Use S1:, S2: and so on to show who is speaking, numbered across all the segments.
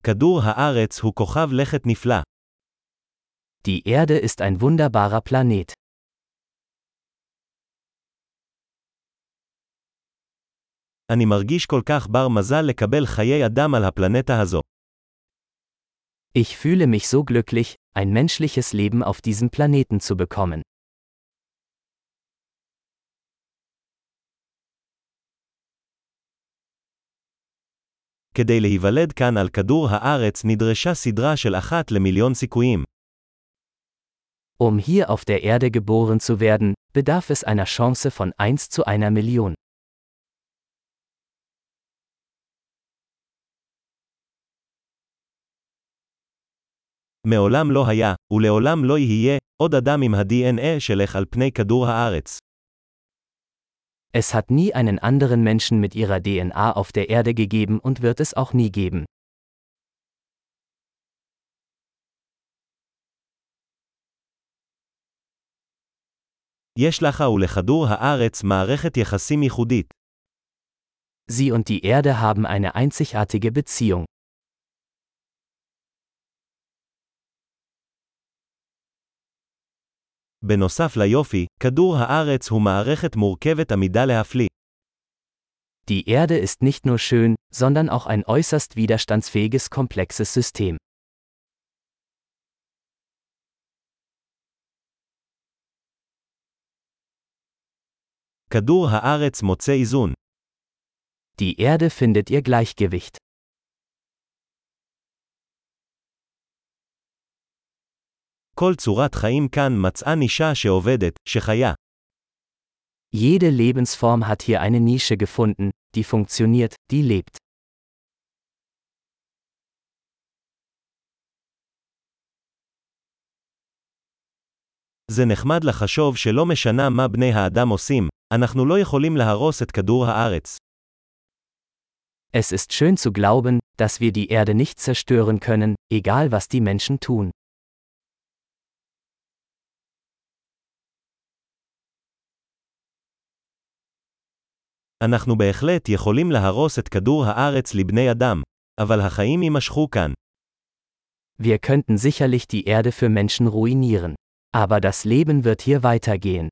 S1: כדור הארץ הוא כוכב לכת נפלא.
S2: Die Erde ist ein wunderbarer Planet.
S1: אני מרגיש כל כך בר מזל לקבל חיי אדם על הפלנטה הזו.
S2: Ich fühle mich so glücklich, ein menschliches Leben auf diesem Planeten zu bekommen.
S1: כדי להיוולד כאן על כדור הארץ נדרשה סדרה של 1 למיליון סיכויים.
S2: Hier auf der Erde geboren zu werden, bedarf es einer Chance von 1 zu einer Million.
S1: מעולם לא היה, ולעולם לא יהיה, עוד אדם עם ה-DNA שלך על פני כדור הארץ.
S2: Es hat nie einen anderen Menschen mit ihrer DNA auf der Erde gegeben und wird es auch nie geben.
S1: יש לך ולכדור הארץ מערכת יחסים ייחודית.
S2: Sie und die Erde haben eine einzigartige Beziehung.
S1: בנוסף ליופי, כדור הארץ הוא מערכת מורכבת עמידה להפליא.
S2: Die Erde ist nicht nur schön, sondern auch ein äußerst widerstandsfähiges komplexes System.
S1: כדור הארץ מוצא איזון.
S2: Die Erde findet ihr Gleichgewicht.
S1: כל צורת חיים כאן מצאה נישה שעובדת, שחיה.
S2: Jede Lebensform hat hier eine Nische gefunden, die funktioniert, die lebt.
S1: זה נחמד לחשוב שלא משנה מה בני האדם עושים, אנחנו לא יכולים להרוס את כדור הארץ.
S2: Es ist schön zu glauben, dass wir die Erde nicht zerstören können, egal was die Menschen tun.
S1: אנחנו בהחלט יכולים להרוס את כדור הארץ לבני אדם, אבל החיים יימשכו כאן.
S2: Wir könnten sicherlich die Erde für Menschen ruinieren. Aber das Leben wird hier weitergehen.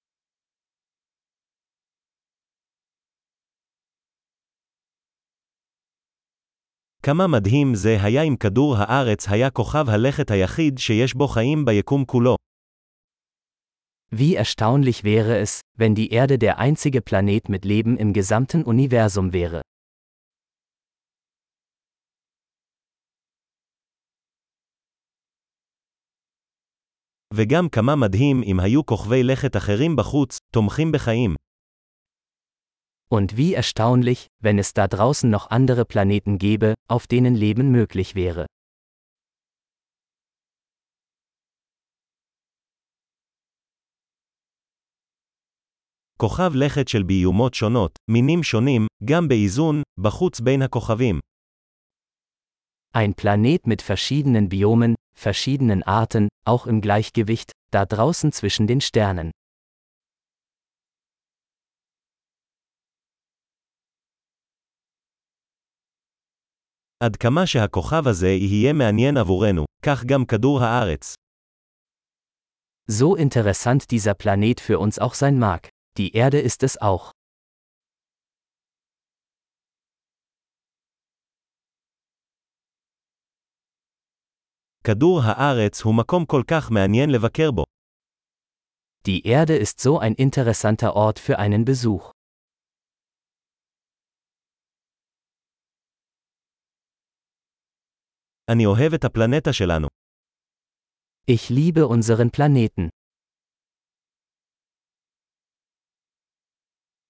S1: כמה מדהים זה היה אם כדור הארץ היה כוכב הלכת היחיד שיש בו חיים ביקום כולו.
S2: Wie erstaunlich wäre es, wenn die Erde der einzige Planet mit Leben im gesamten Universum wäre.
S1: וגם כמה מדהים אם היו כוכבי לכת אחרים בחוץ, תומכים בחיים.
S2: Und wie erstaunlich, wenn es da draußen noch andere Planeten gäbe, auf denen Leben möglich wäre.
S1: כוכב לכת של ביומות שונות, מינים שונים, גם באיזון, בחוץ בין הכוכבים.
S2: Ein Planet mit verschiedenen Biomen, verschiedenen Arten, auch im Gleichgewicht, da draußen zwischen den Sternen.
S1: עד כמה שהכוכב הזה יהיה מעניין עבורנו, כך גם כדור הארץ.
S2: So interessant dieser Planet für uns auch sein mag, die Erde ist es auch.
S1: כדור הארץ הוא מקום כל כך מעניין לבקר בו.
S2: Die Erde ist so ein interessanter Ort für einen Besuch.
S1: אני אוהב את הפלנטה שלנו.
S2: Ich liebe unseren Planeten.